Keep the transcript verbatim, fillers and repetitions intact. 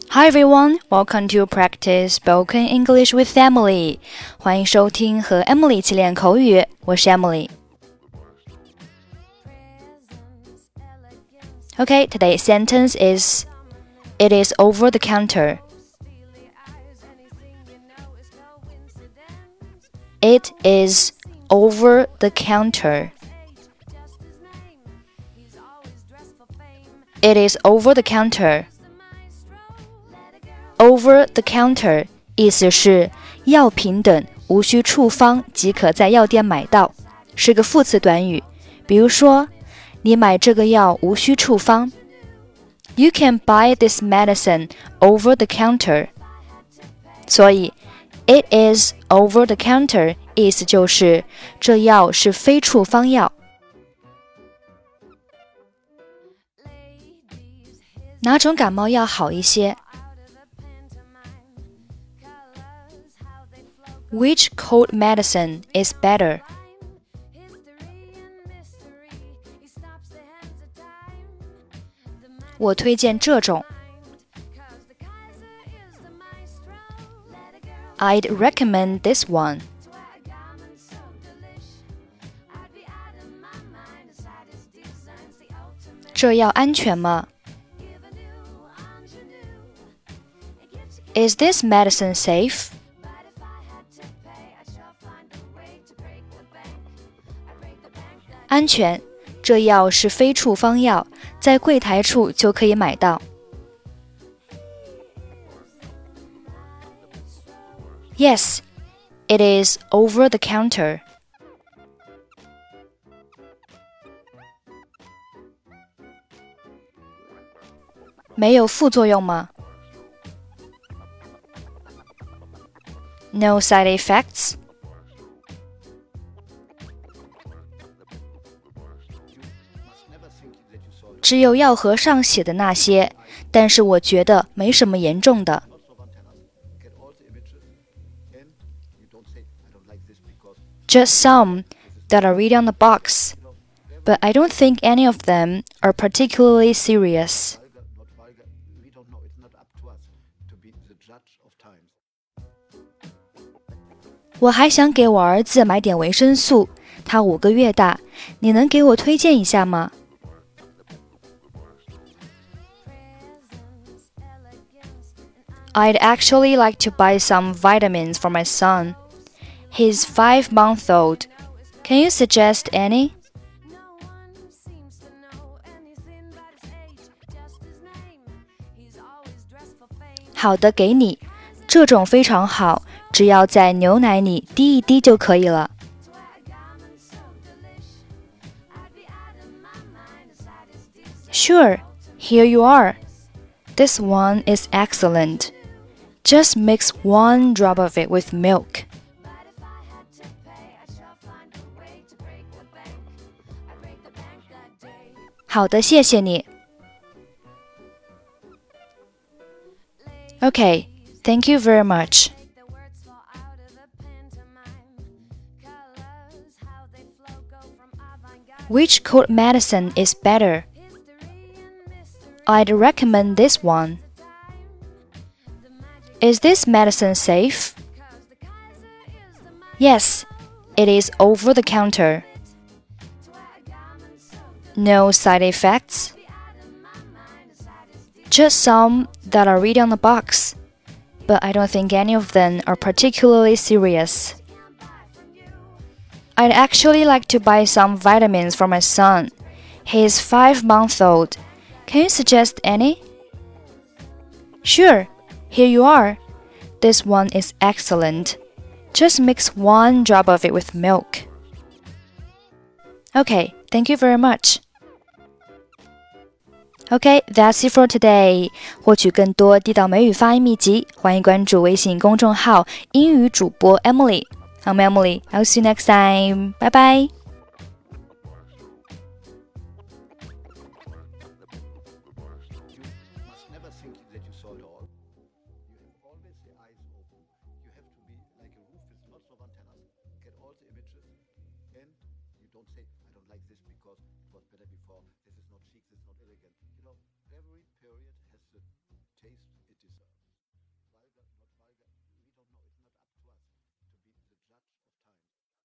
Hi everyone, welcome to practice spoken English with Emily. 欢迎收听和 Emily 一起练口语，我是 Emily. Okay, today's sentence is It is over the counter. It is over the counter. It is over the counter.Over the counter 意思是药品等无需处方即可在药店买到，是个副词短语。比如说，你买这个药无需处方。You can buy this medicine over the counter. 所以 It is over the counter 意思就是这药是非处方药。哪种感冒药好一些？Which cold medicine is better? 我推荐这种。I'd recommend this one. 这药安全吗？ Is this medicine safe?安全，这药是非处方药，在柜台处就可以买到。Yes, it is over the counter. 没有副作用吗？ No side effects?只有药盒上写的那些，但是我觉得没什么严重的。Just some that are written on the box, but I don't think any of them are particularly serious. 我还想给我儿子买点维生素，他五个月大，你能给我推荐一下吗？I'd actually like to buy some vitamins for my son. He's five months old. Can you suggest any? 好的，给你。这种非常好，只要在牛奶里滴一滴就可以了。Sure, here you are. This one is excellent.Just mix one drop of it with milk. 好的，谢谢你。Okay, thank you very much. Which cold medicine is better? I'd recommend this one.Is this medicine safe? Yes, it is over the counter. No side effects? Just some that are written on the box, but I don't think any of them are particularly serious. I'd actually like to buy some vitamins for my son. He is five months old. Can you suggest any? Sure.Here you are. This one is excellent. Just mix one drop of it with milk. Okay, thank you very much. Okay, that's it for today. 获取更多地道美语发音秘籍，欢迎关注微信公众号英语主播 Emily. I'm Emily. I'll see you next time. Bye bye. Don't say, I don't like this because it was better before. This is not chic, this is not elegant. You know, every period